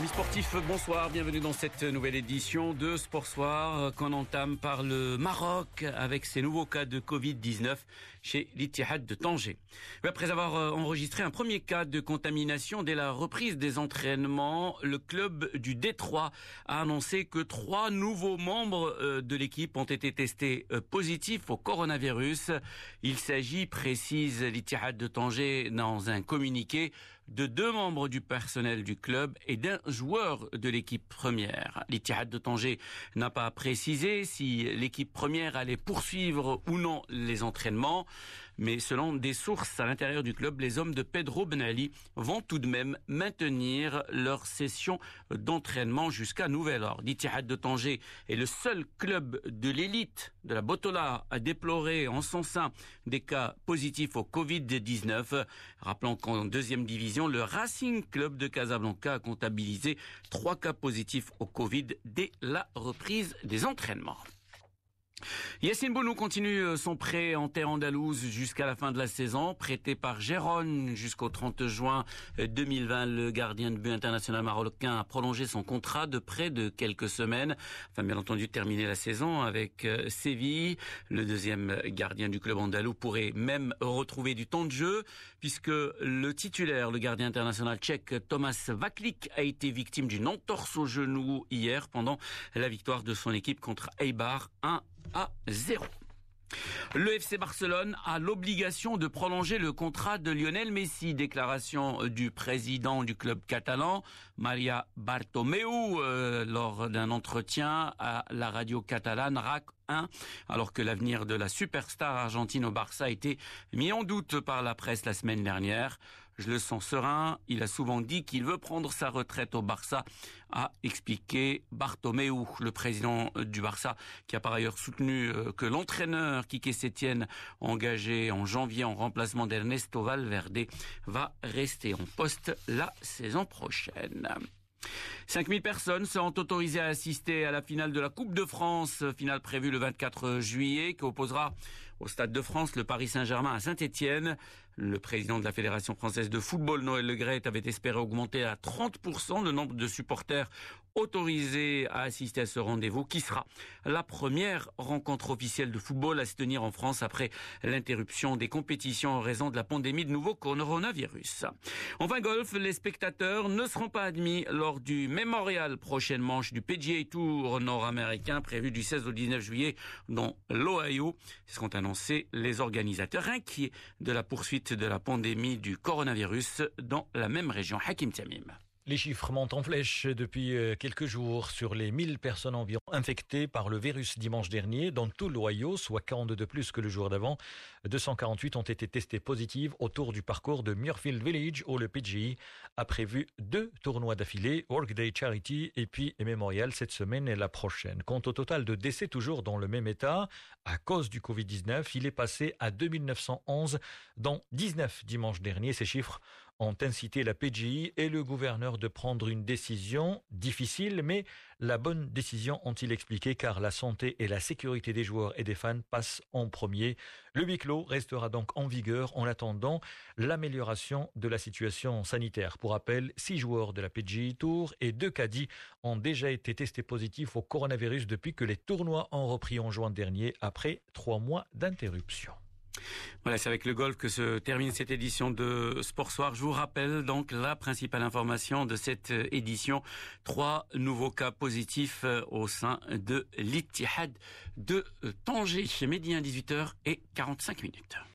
Amis sportifs, bonsoir, bienvenue dans cette nouvelle édition de Sport Soir qu'on entame par le Maroc avec ses nouveaux cas de Covid-19 chez l'Ittihad de Tanger. Après avoir enregistré un premier cas de contamination dès la reprise des entraînements, le club du Détroit a annoncé que 3 nouveaux membres de l'équipe ont été testés positifs au coronavirus. Il s'agit, précise l'Ittihad de Tanger dans un communiqué, de 2 membres du personnel du club et d'un joueur de l'équipe première. L'Ittihad de Tanger n'a pas précisé si l'équipe première allait poursuivre ou non les entraînements, mais selon des sources à l'intérieur du club, les hommes de Pedro Ben Ali vont tout de même maintenir leur session d'entraînement jusqu'à nouvel ordre. L'Ittihad de Tanger est le seul club de l'élite de la Botola à déplorer en son sein des cas positifs au Covid-19. Rappelons qu'en deuxième division, le Racing Club de Casablanca a comptabilisé 3 cas positifs au Covid dès la reprise des entraînements. Yacine Bounou continue son prêt en terre andalouse jusqu'à la fin de la saison. Prêté par Gérone jusqu'au 30 juin 2020, le gardien de but international marocain a prolongé son contrat de prêt de quelques semaines. Enfin, bien entendu, terminer la saison avec Séville. Le deuxième gardien du club andalou pourrait même retrouver du temps de jeu puisque le titulaire, le gardien international tchèque Tomáš Vaclík, a été victime d'une entorse au genou hier pendant la victoire de son équipe contre Eibar 1-0. Le FC Barcelone a l'obligation de prolonger le contrat de Lionel Messi. Déclaration du président du club catalan, Maria Bartomeu, lors d'un entretien à la radio catalane RAC 1, alors que l'avenir de la superstar argentine au Barça a été mis en doute par la presse la semaine dernière. Je le sens serein, il a souvent dit qu'il veut prendre sa retraite au Barça, a expliqué Bartomeu, le président du Barça, qui a par ailleurs soutenu que l'entraîneur Quique Setién, engagé en janvier en remplacement d'Ernesto Valverde, va rester en poste la saison prochaine. 5000 personnes seront autorisées à assister à la finale de la Coupe de France, finale prévue le 24 juillet, qui opposera au Stade de France le Paris Saint-Germain à Saint-Étienne. Le président de la Fédération française de football, Noël Le Graët, avait espéré augmenter à 30% le nombre de supporters autorisés à assister à ce rendez-vous, qui sera la première rencontre officielle de football à se tenir en France après l'interruption des compétitions en raison de la pandémie de nouveau coronavirus. Enfin, golf, les spectateurs ne seront pas admis lors du Memorial, prochaine manche du PGA Tour nord-américain prévu du 16 au 19 juillet dans l'Ohio. Ce seront annoncés les organisateurs inquiets de la poursuite de la pandémie du coronavirus dans la même région. Hakim Tamim. Les chiffres montent en flèche depuis quelques jours sur les 1000 personnes environ infectées par le virus dimanche dernier dans tout l'Ohio, soit 42 de plus que le jour d'avant. 248 ont été testées positives autour du parcours de Muirfield Village où le PGA a prévu 2 tournois d'affilée, Workday Charity et puis Memorial cette semaine et la prochaine. Quant au total de décès toujours dans le même état, à cause du Covid-19, il est passé à 2911 dont 19 dimanche dernier. Ces chiffres ont incité la PGA et le gouverneur de prendre une décision difficile, mais la bonne décision, ont-ils expliqué, car la santé et la sécurité des joueurs et des fans passent en premier. Le huis clos restera donc en vigueur en attendant l'amélioration de la situation sanitaire. Pour rappel, 6 joueurs de la PGA Tour et 2 caddies ont déjà été testés positifs au coronavirus depuis que les tournois ont repris en juin dernier après 3 mois d'interruption. Voilà, c'est avec le golf que se termine cette édition de Sport Soir. Je vous rappelle donc la principale information de cette édition. 3 nouveaux cas positifs au sein de l'Ittihad de Tanger. Midi 18h45.